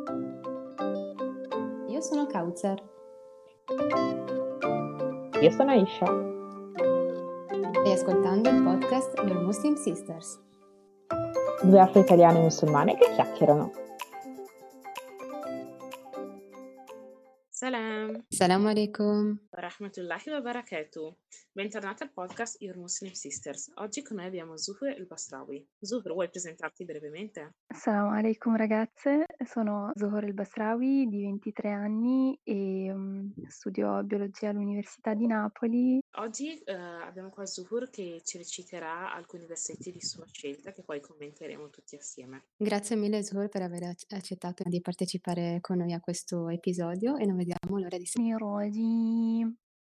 Io sono Kautsar. Io sono Aisha. Stai ascoltando il podcast Your Muslim Sisters. Due afro-italiane musulmane che chiacchierano. Salam, Salam alaikum. rahmatullahi wa barakatuh. Bentornati al podcast Your Muslim Sisters. Oggi con noi abbiamo Zuhur El Basrawi. Zuhur, vuoi presentarti brevemente? Assalamu alaikum ragazze, sono Zohor El Basrawi di 23 anni e studio biologia all'Università di Napoli. Oggi abbiamo qua Zuhur che ci reciterà alcuni versetti di sua scelta che poi commenteremo tutti assieme. Grazie mille Zuhur per aver accettato di partecipare con noi a questo episodio e non vediamo l'ora di Rajim.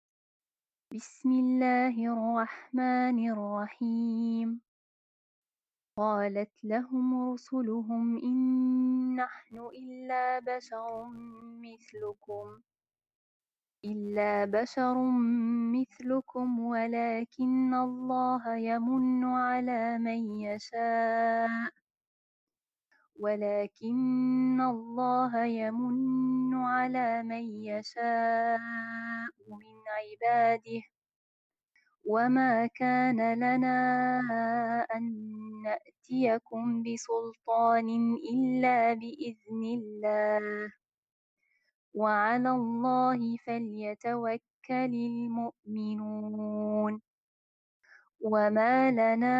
Bismillahirrahmanirrahim. قالت لهم رسلهم إن نحن إلا بشر مثلكم ولكن الله يمن على من يشاء من عباده وما كان لنا أن نأتيكم بسلطان إلا بإذن الله وعلى الله فليتوكل المؤمنون وما لنا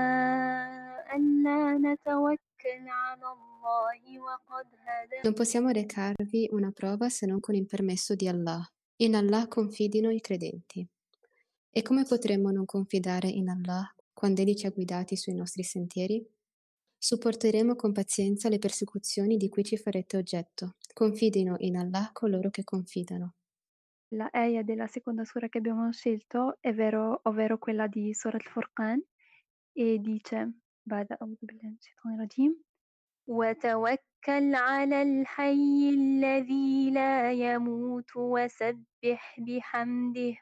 ألا نتوكل على الله وقد هدانا. Non possiamo recarvi una prova se non con il permesso di Allah. In Allah confidino i credenti. E come potremmo non confidare in Allah quando Egli ci ha guidati sui nostri sentieri? Supporteremo con pazienza le persecuzioni di cui ci farete oggetto. Confidino in Allah coloro che confidano. La ayah della seconda sura che abbiamo scelto è ovvero quella di Surat al-Furqan e dice بعد أعوذ بالله من الشيطان الرجيم وتوكل على الحي الذي لا يموت وسبح بحمده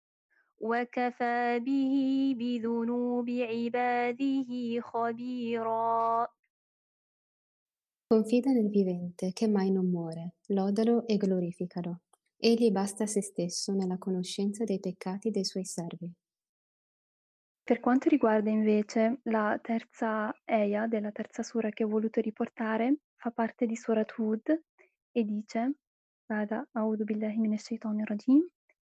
وكفى به بذنوب عباده خبيرا. Confida nel vivente che mai non muore, lodalo e glorificalo. Egli basta a se stesso nella conoscenza dei peccati dei suoi servi. Per quanto riguarda invece la terza ayah della terza sura che ho voluto riportare, fa parte di Surat Hud e dice بعد أعوذ بالله من الشيطان الرجيم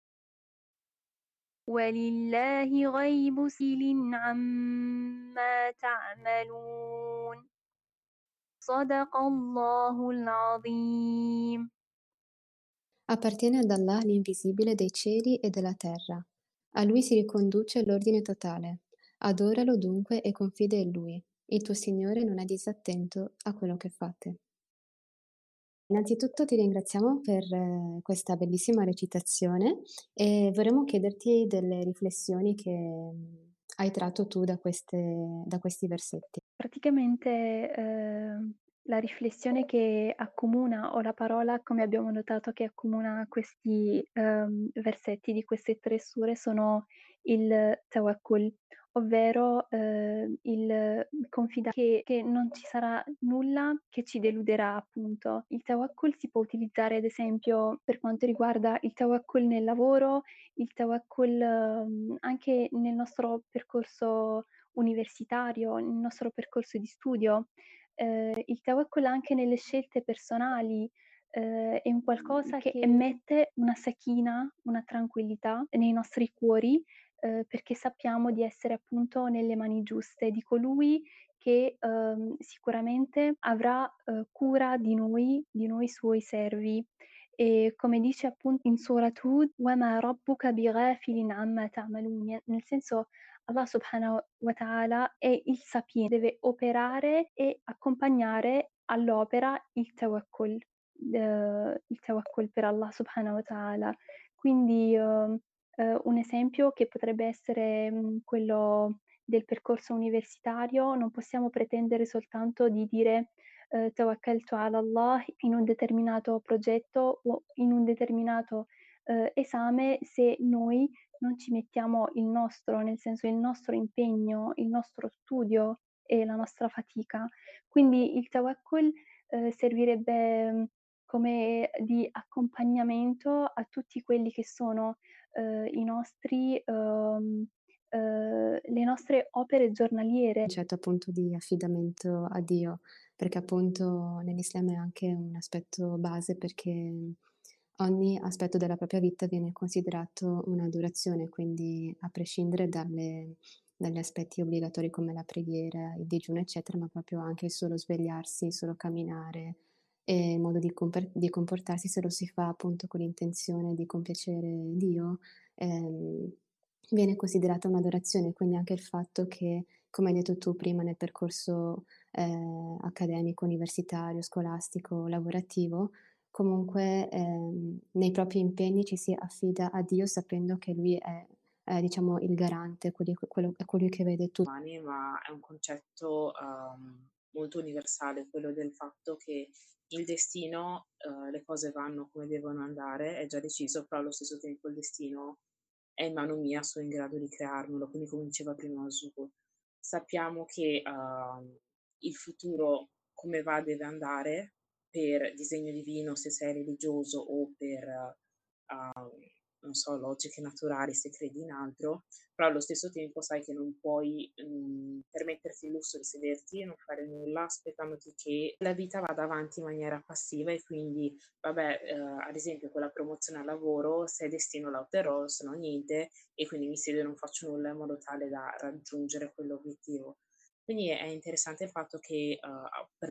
ولله غيب سِلٍ عما تعملون صدق الله العظيم. Appartiene ad Allah l'invisibile dei cieli e della terra. A Lui si riconduce l'ordine totale. Adoralo dunque e confida in Lui. Il tuo Signore non è disattento a quello che fate. Innanzitutto ti ringraziamo per questa bellissima recitazione e vorremmo chiederti delle riflessioni che hai tratto tu da questi versetti. Praticamente la riflessione che accomuna, o la parola, come abbiamo notato, che accomuna questi versetti di queste tre sure sono il tawakkul, ovvero il confidare che non ci sarà nulla che ci deluderà, appunto. Il tawakkul si può utilizzare ad esempio per quanto riguarda il tawakkul nel lavoro, il tawakkul anche nel nostro percorso universitario, nel nostro percorso di studio. Il tawakkul anche nelle scelte personali è un qualcosa che emette una sakina, una tranquillità nei nostri cuori, perché sappiamo di essere appunto nelle mani giuste di colui che sicuramente avrà cura di noi suoi servi. E come dice appunto in Surat Hud, وَمَا رَبُّكَ بِغَافِلٍ عَمَّا تَعْمَلُونَ, nel senso Allah subhanahu wa ta'ala è il sapiente, deve operare e accompagnare all'opera il tawakkul per Allah subhanahu wa ta'ala. Quindi un esempio che potrebbe essere quello del percorso universitario, non possiamo pretendere soltanto di dire tawakkaltu ala Allah in un determinato progetto o in un determinato esame se noi non ci mettiamo il nostro, nel senso il nostro impegno, il nostro studio e la nostra fatica. Quindi il tawakkul servirebbe, come di accompagnamento a tutti quelli che sono, i nostri le nostre opere giornaliere. Concetto appunto di affidamento a Dio, perché appunto nell'Islam è anche un aspetto base perché ogni aspetto della propria vita viene considerato un'adorazione, quindi a prescindere dagli aspetti obbligatori come la preghiera, il digiuno, eccetera, ma proprio anche il solo svegliarsi, il solo camminare e il modo di comportarsi, se lo si fa appunto con l'intenzione di compiacere Dio, ehm, viene considerata un'adorazione. Quindi anche il fatto che, come hai detto tu prima, nel percorso, accademico, universitario, scolastico, lavorativo, comunque, nei propri impegni ci si affida a Dio sapendo che Lui è diciamo il garante, quello è colui che vede tu umani, ma è un concetto molto universale, quello del fatto che il destino, le cose vanno come devono andare, è già deciso, però allo stesso tempo il destino è in mano mia, sono in grado di crearmelo, quindi come diceva prima Zuko, sappiamo che il futuro come va deve andare per disegno divino se sei religioso o per, non so, logiche naturali se credi in altro, però allo stesso tempo sai che non puoi permetterti il lusso di sederti e non fare nulla aspettandoti che la vita vada avanti in maniera passiva e quindi, vabbè, ad esempio con la promozione al lavoro, se è destino la otterrò, se no niente, e quindi mi siedo e non faccio nulla in modo tale da raggiungere quell'obiettivo. Quindi è interessante il fatto che per